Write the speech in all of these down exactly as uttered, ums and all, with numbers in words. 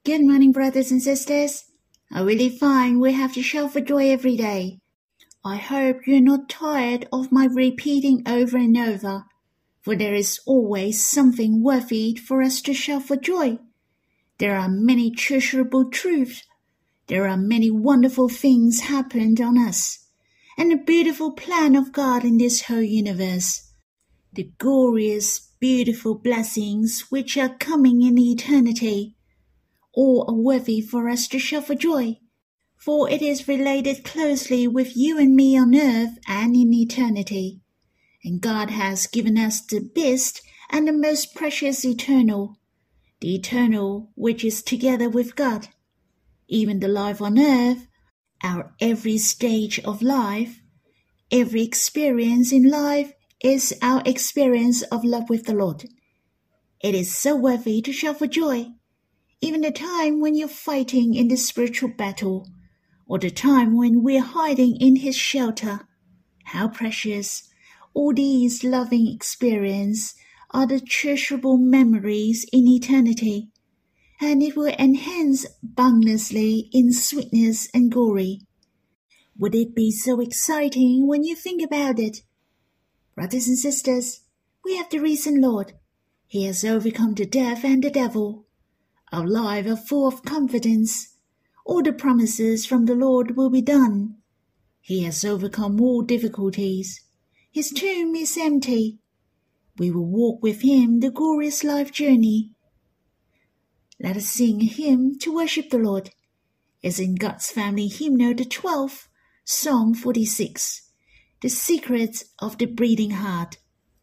Good morning, brothers and sisters. I really find we have to shout for joy every day. I hope you're not tired of my repeating over and over, for there is always something worthy for us to shout for joy. There are many treasurable truths. There are many wonderful things happened on us, and a beautiful plan of God in this whole universe. The glorious, beautiful blessings which are coming in eternity. All are worthy for us to shout for joy, for it is related closely with you and me on earth and in eternity. And God has given us the best and the most precious eternal, the eternal which is together with God. Even the life on earth, our every stage of life, every experience in life is our experience of love with the Lord. It is so worthy to shout for joy. Even the time when you're fighting in the spiritual battle, or the time when we're hiding in His shelter, how precious all these loving experiences are the treasurable memories in eternity, and it will enhance boundlessly in sweetness and glory. Would it be so exciting when you think about it? Brothers and sisters, we have the risen Lord. He has overcome the death and the devil. Our lives are full of confidence. All the promises from the Lord will be done. He has overcome all difficulties. His tomb is empty. We will walk with Him the glorious life journey. Let us sing a hymn to worship the Lord. It's in God's Family Hymnal, the twelfth, Psalm forty-six, The Secrets of the Bleeding Heart.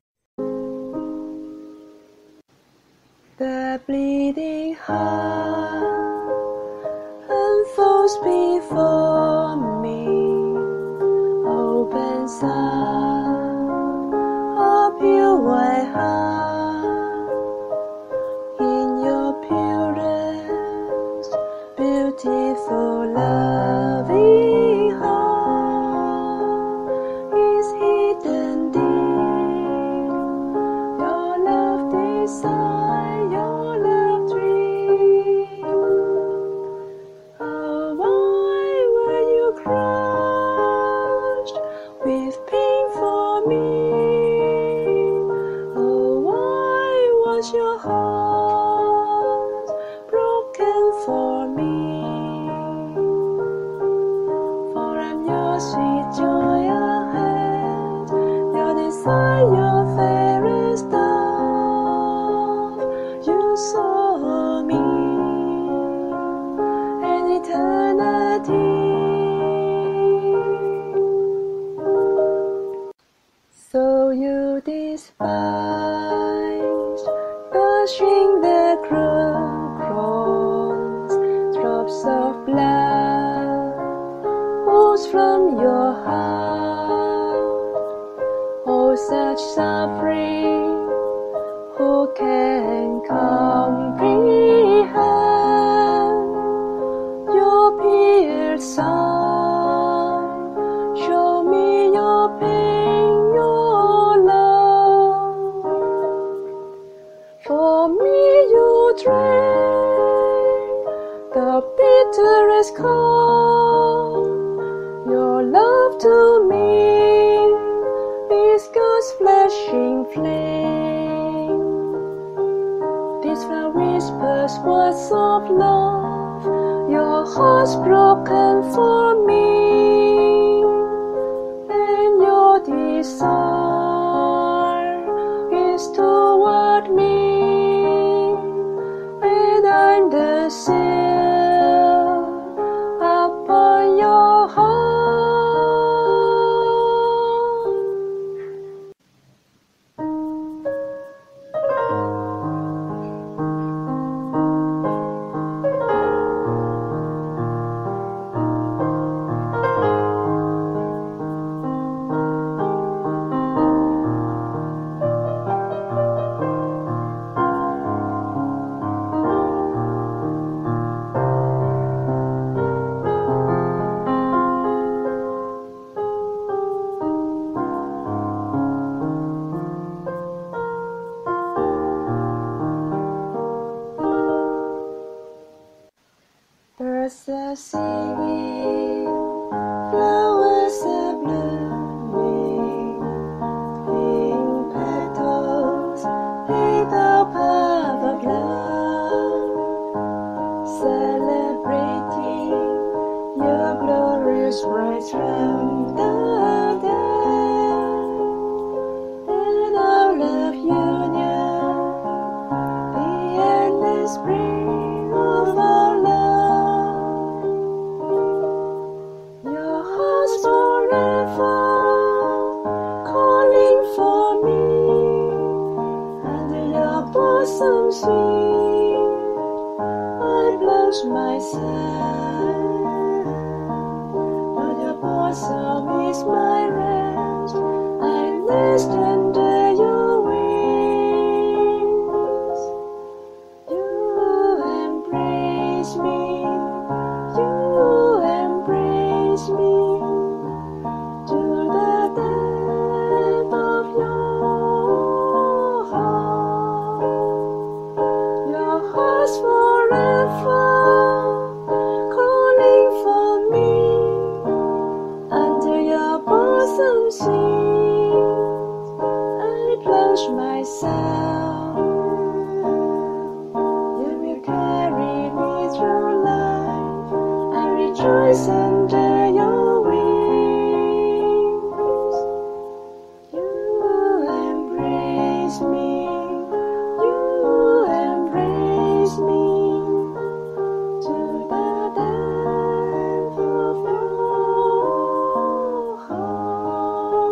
The bleeding heart unfolds before me, opens up a pure white heart. In your purest, beautiful, loving heart is hidden deep your love desire. Your heart broken for me, for I'm your sweet joy ahead, your desire fairest love. You saw me in eternity, so you despise washing the cross, drops of blood falls from your heart. Oh, such suffering, who can comprehend? Your pierced side, show me your pain, your love. For me you drank the bitterest cup. Your love to me is God's flashing flame. These flower whispers words of love, your heart's broken for me, and your desire is toward me. I'm the seal upon your heart. Birds are singing, flowers are blooming, pink petals in the path of love, celebrating your glorious rise from the dead, and our love union, the endless spring of our love. Your heart's forever calling for me, under your bosom sweet I blush myself. On your bosom is my rest, I nest under your wings. You embrace me, you embrace me, to the depth of your heart. Your heart's forever calling for me, under your bosom sweet I blush myself. You will carry me through life, I rejoice under your wings. You embrace me, you embrace me, to the depth of your heart.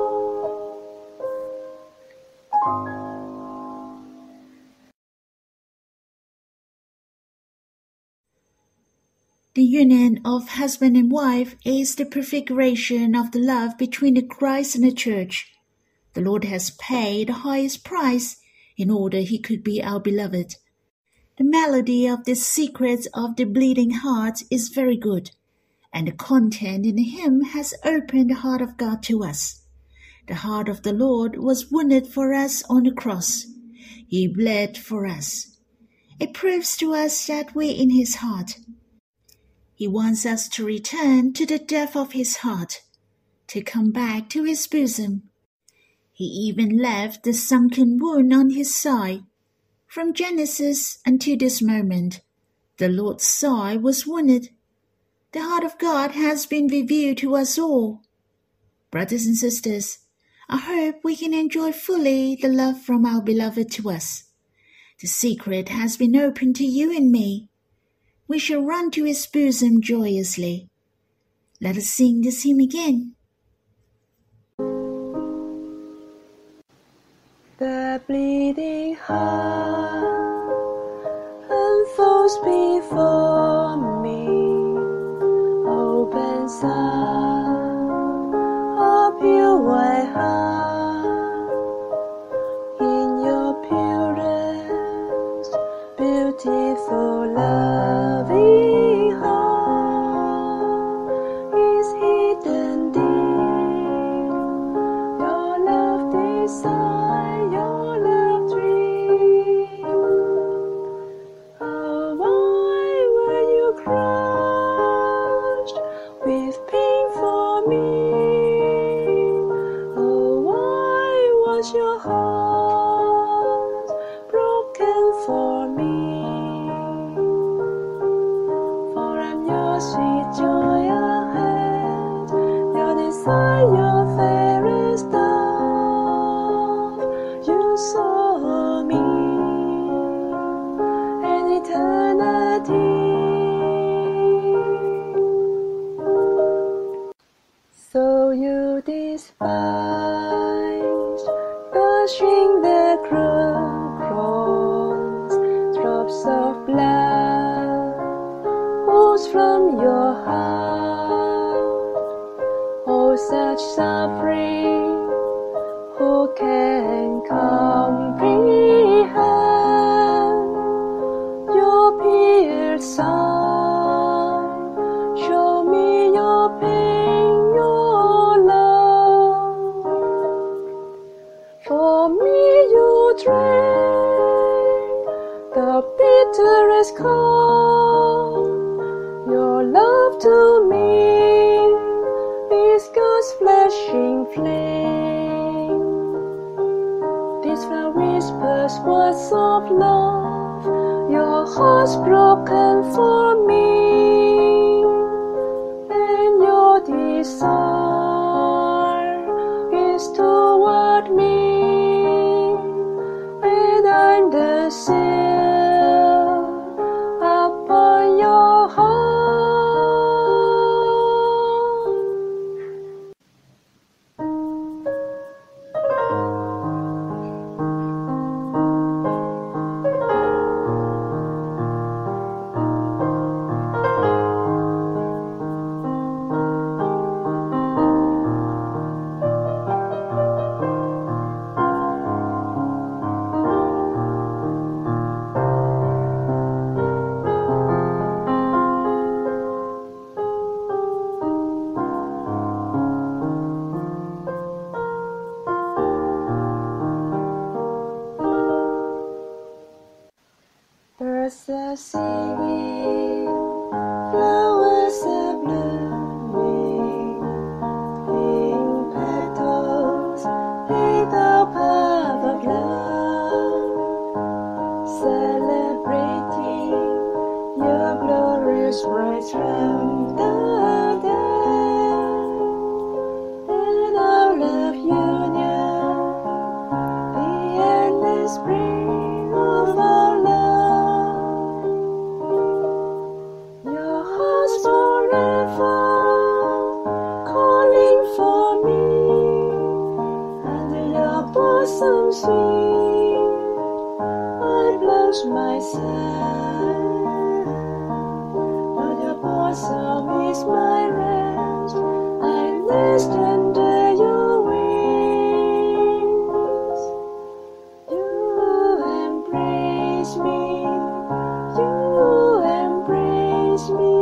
The union of husband and wife is the prefiguration of the love between the Christ and the Church. The Lord has paid the highest price in order he could be our beloved. The melody of the secrets of the bleeding heart is very good, and the content in the hymn has opened the heart of God to us. The heart of the Lord was wounded for us on the cross. He bled for us. It proves to us that we're in his heart. He wants us to return to the depth of his heart, to come back to his bosom. He even left the sunken wound on his side. From Genesis until this moment, the Lord's side was wounded. The heart of God has been revealed to us all. Brothers and sisters, I hope we can enjoy fully the love from our beloved to us. The secret has been opened to you and me. We shall run to his bosom joyously. Let us sing this hymn again. The bleeding heart unfolds before me, opens up a pure white heart. In your purest, beautiful, loving heart is hidden deep your love desire, your love dream. Oh, why were you crushed with pain for me? Oh, why was your heart broken for me? For I'm your sweet joy ahead, your desire, your fairest dove. You saw me in eternity. So you despised the string, the cruel cross, drops of blood oozed from your heart. Oh, such suffering, who can comprehend? Your pierced side, show me your pain, your love. For me you drank the bitterest cup, broken for me, and your desire is toward me, and I'm the seal upon your heart. Birds are singing, flowers are blooming, pink petals in the path of love, celebrating your glorious rise from the dead, and our love union, the endless spring of our love. Forever calling for me, under your bosom sweet, I blush myself. But your bosom is my rest, I nest under your wings. You embrace me, you embrace me.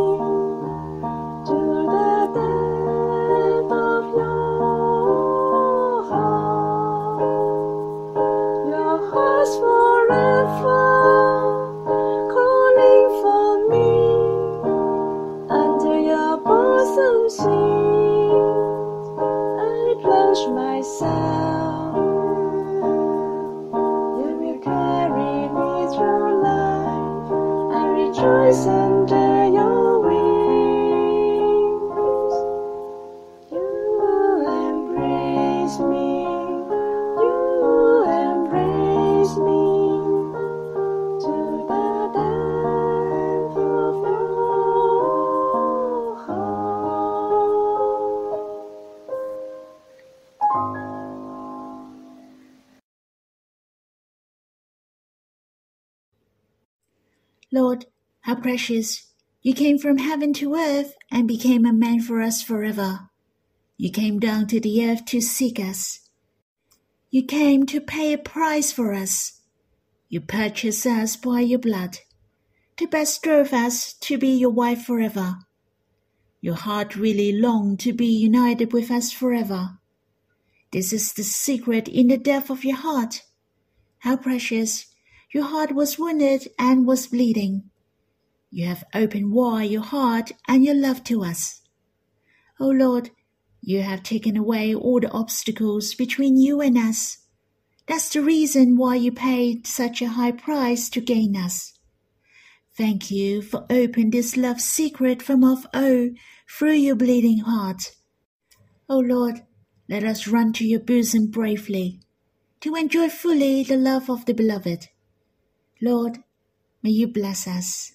Forever calling for me, under your bosom sweet, I plunge myself. You will carry me through life, I rejoice under your wings. You embrace me, you embrace me. Lord, how precious! You came from heaven to earth and became a man for us forever. You came down to the earth to seek us. You came to pay a price for us. You purchased us by your blood, to bestow us to be your wife forever. Your heart really longed to be united with us forever. This is the secret in the depth of your heart. How precious! Your heart was wounded and was bleeding. You have opened wide your heart and your love to us. O Lord, you have taken away all the obstacles between you and us. That's the reason why you paid such a high price to gain us. Thank you for opening this love secret from of old through your bleeding heart. O Lord, let us run to your bosom bravely, to enjoy fully the love of the beloved. Lord, may you bless us.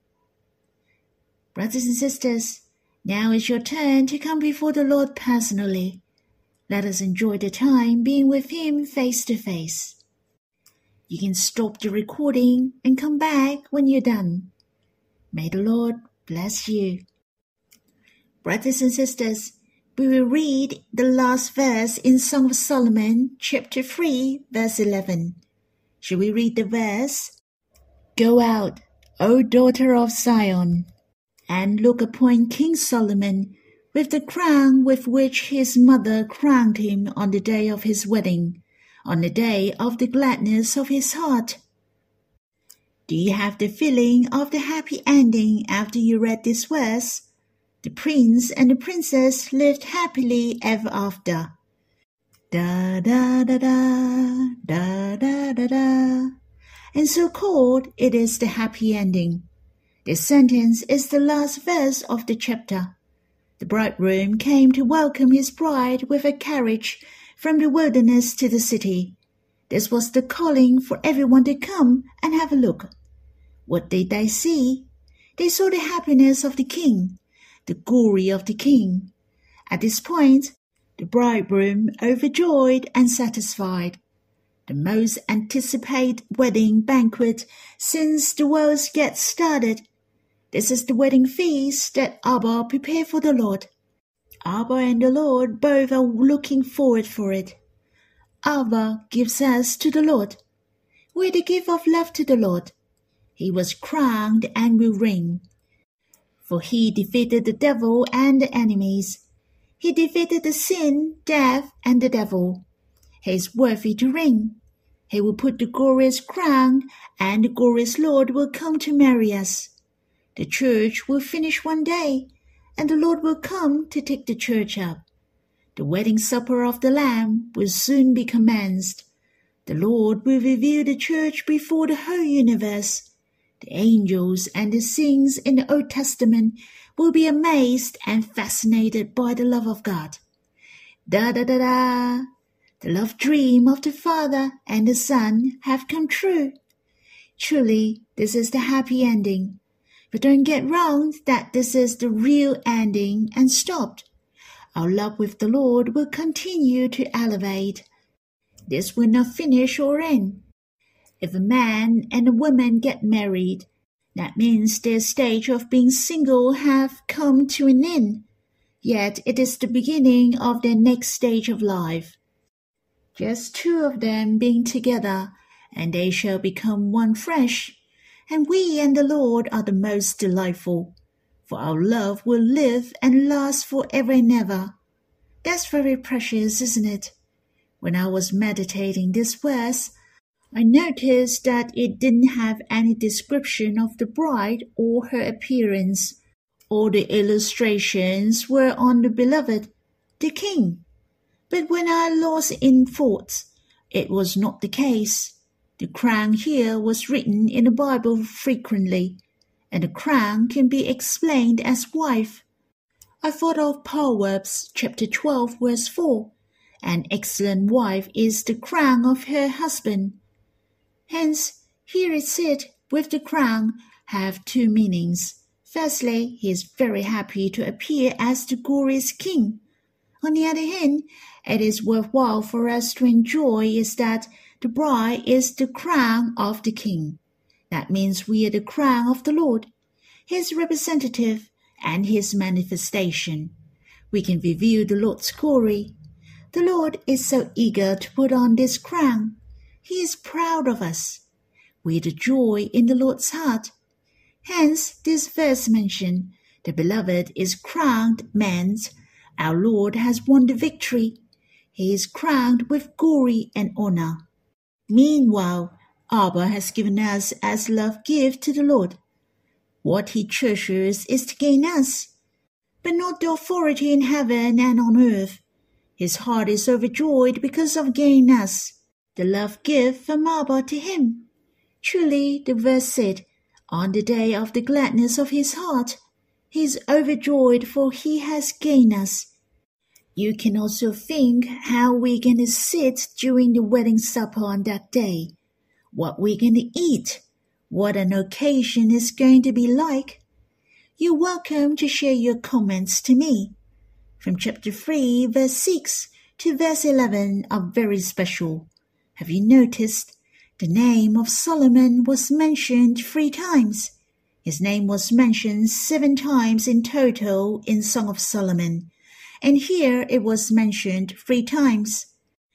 Brothers and sisters, now is your turn to come before the Lord personally. Let us enjoy the time being with Him face to face. You can stop the recording and come back when you're done. May the Lord bless you. Brothers and sisters, we will read the last verse in Song of Solomon, chapter three, verse eleven. Shall we read the verse? Go out, O daughter of Zion, and look upon King Solomon with the crown with which his mother crowned him on the day of his wedding, on the day of the gladness of his heart. Do you have the feeling of the happy ending after you read this verse? The prince and the princess lived happily ever after. Da da da da, da da da da. And so called, it is the happy ending. This sentence is the last verse of the chapter. The bridegroom came to welcome his bride with a carriage from the wilderness to the city. This was the calling for everyone to come and have a look. What did they see? They saw the happiness of the king, the glory of the king. At this point, the bridegroom, overjoyed and satisfied, the most anticipated wedding banquet since the world gets started. This is the wedding feast that Abba prepared for the Lord. Abba and the Lord both are looking forward for it. Abba gives us to the Lord. We're the gift of love to the Lord. He was crowned and will reign. For he defeated the devil and the enemies. He defeated the sin, death, and the devil. He is worthy to reign. He will put the glorious crown, and the glorious Lord will come to marry us. The church will finish one day, and the Lord will come to take the church up. The wedding supper of the Lamb will soon be commenced. The Lord will reveal the church before the whole universe. The angels and the saints in the Old Testament will be amazed and fascinated by the love of God. Da-da-da-da! The love dream of the Father and the Son have come true. Truly, this is the happy ending. But don't get wrong that this is the real ending and stopped. Our love with the Lord will continue to elevate. This will not finish or end. If a man and a woman get married, that means their stage of being single have come to an end. Yet it is the beginning of their next stage of life. Just two of them being together, and they shall become one flesh. And we and the Lord are the most delightful, for our love will live and last forever and ever. That's very precious, isn't it? When I was meditating this verse, I noticed that it didn't have any description of the bride or her appearance. All the illustrations were on the beloved, the king. But when I lost in thought, it was not the case. The crown here was written in the Bible frequently, and the crown can be explained as wife. I thought of Proverbs chapter twelve verse four. An excellent wife is the crown of her husband. Hence, here it said, with the crown, have two meanings. Firstly, he is very happy to appear as the glorious king. On the other hand, it is worthwhile for us to enjoy is that the bride is the crown of the king. That means we are the crown of the Lord, his representative and his manifestation. We can reveal the Lord's glory. The Lord is so eager to put on this crown. He is proud of us. We are the joy in the Lord's heart. Hence, this verse mentioned, the beloved is crowned means our Lord has won the victory. He is crowned with glory and honor. Meanwhile, Abba has given us as love gift to the Lord. What he treasures is to gain us, but not the authority in heaven and on earth. His heart is overjoyed because of gaining us, the love gift from Abba to him. Truly, the verse said, on the day of the gladness of his heart, he is overjoyed for he has gained us. You can also think how we're going to sit during the wedding supper on that day, what we're going to eat, what an occasion is going to be like. You're welcome to share your comments to me. From chapter three, verse six to verse eleven are very special. Have you noticed? The name of Solomon was mentioned three times. His name was mentioned seven times in total in Song of Solomon, and here it was mentioned three times.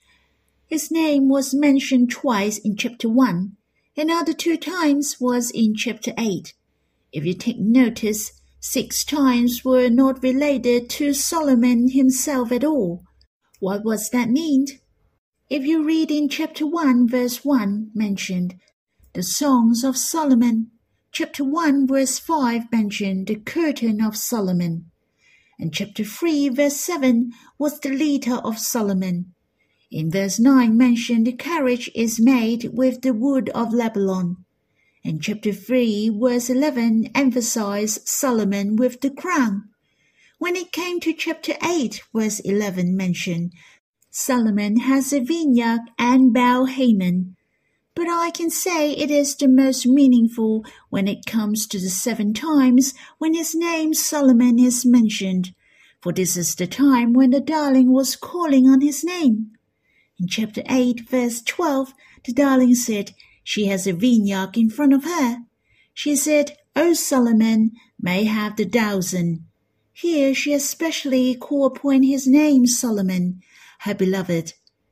His name was mentioned twice in chapter one, and other two times was in chapter eight. If you take notice, six times were not related to Solomon himself at all. What was that mean? If you read in chapter one, verse one mentioned the Songs of Solomon, chapter one, verse five mentioned the curtain of Solomon, and chapter three, verse seven was the litter of Solomon. In verse nine mentioned the carriage is made with the wood of Lebanon, And chapter three, verse eleven emphasized Solomon with the crown. When it came to chapter eight, verse eleven mentioned Solomon has a vineyard and Baal-Hamon. But I can say it is the most meaningful when it comes to the seven times when his name Solomon is mentioned, for this is the time when the darling was calling on his name. In chapter eight, verse twelve, the darling said, she has a vineyard in front of her. She said, O Solomon, may have the thousand. Here she especially called upon his name Solomon, her beloved.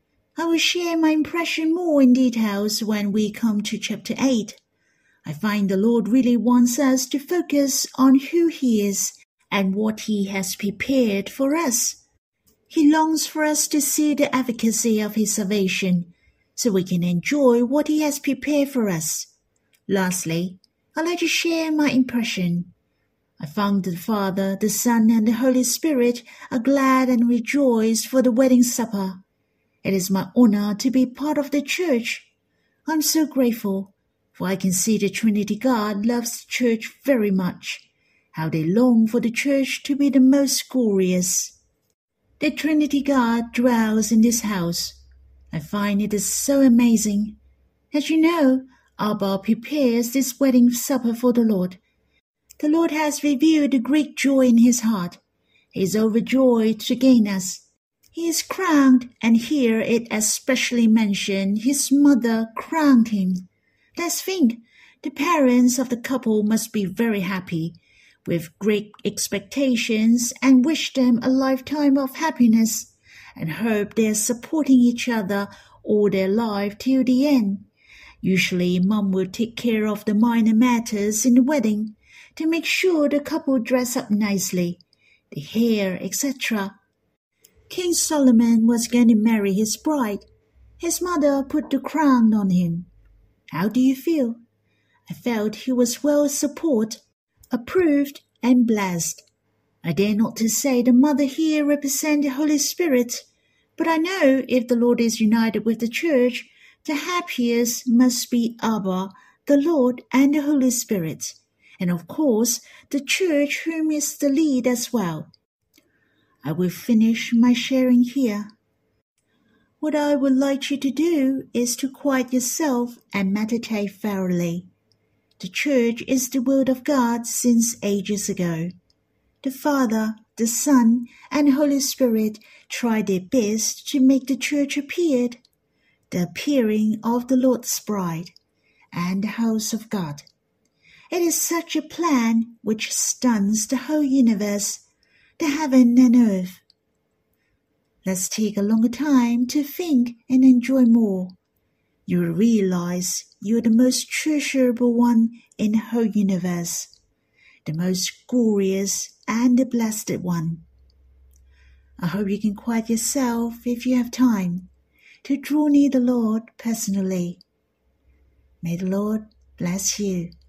I will share my impression more in details when we come to chapter eight. I find the Lord really wants us to focus on who He is and what He has prepared for us. He longs for us to see the efficacy of His salvation, so we can enjoy what He has prepared for us. Lastly, I'd like to share my impression. I found the Father, the Son, and the Holy Spirit are glad and rejoice for the wedding supper. It is my honor to be part of the church. I'm so grateful, for I can see the Trinity God loves the church very much, how they long for the church to be the most glorious. The Trinity God dwells in this house. I find it is so amazing. As you know, Abba prepares this wedding supper for the Lord. The Lord has revealed the great joy in His heart. He is overjoyed to gain us. He is crowned, and here it especially mentioned His mother crowned Him. Let's think, the parents of the couple must be very happy, with great expectations, and wish them a lifetime of happiness, and hope they are supporting each other all their life till the end. Usually, Mom will take care of the minor matters in the wedding, to make sure the couple dress up nicely, the hair, et cetera. King Solomon was going to marry his bride. His mother put the crown on him. How do you feel? I felt he was well supported, approved, and blessed. I dare not to say the mother here represents the Holy Spirit, but I know if the Lord is united with the church, the happiest must be Abba, the Lord, and the Holy Spirit, and of course the church whom is the lead as well. I will finish my sharing here. What I would like you to do is to quiet yourself and meditate thoroughly. The church is the Word of God since ages ago. The Father, the Son, and Holy Spirit tried their best to make the church appear, the appearing of the Lord's bride, and the house of God. It is such a plan which stuns the whole universe, the heaven and earth. Let's take a longer time to think and enjoy more. You will realize you are the most treasurable one in the whole universe, the most glorious and the blessed one. I hope you can quiet yourself if you have time to draw near the Lord personally. May the Lord bless you.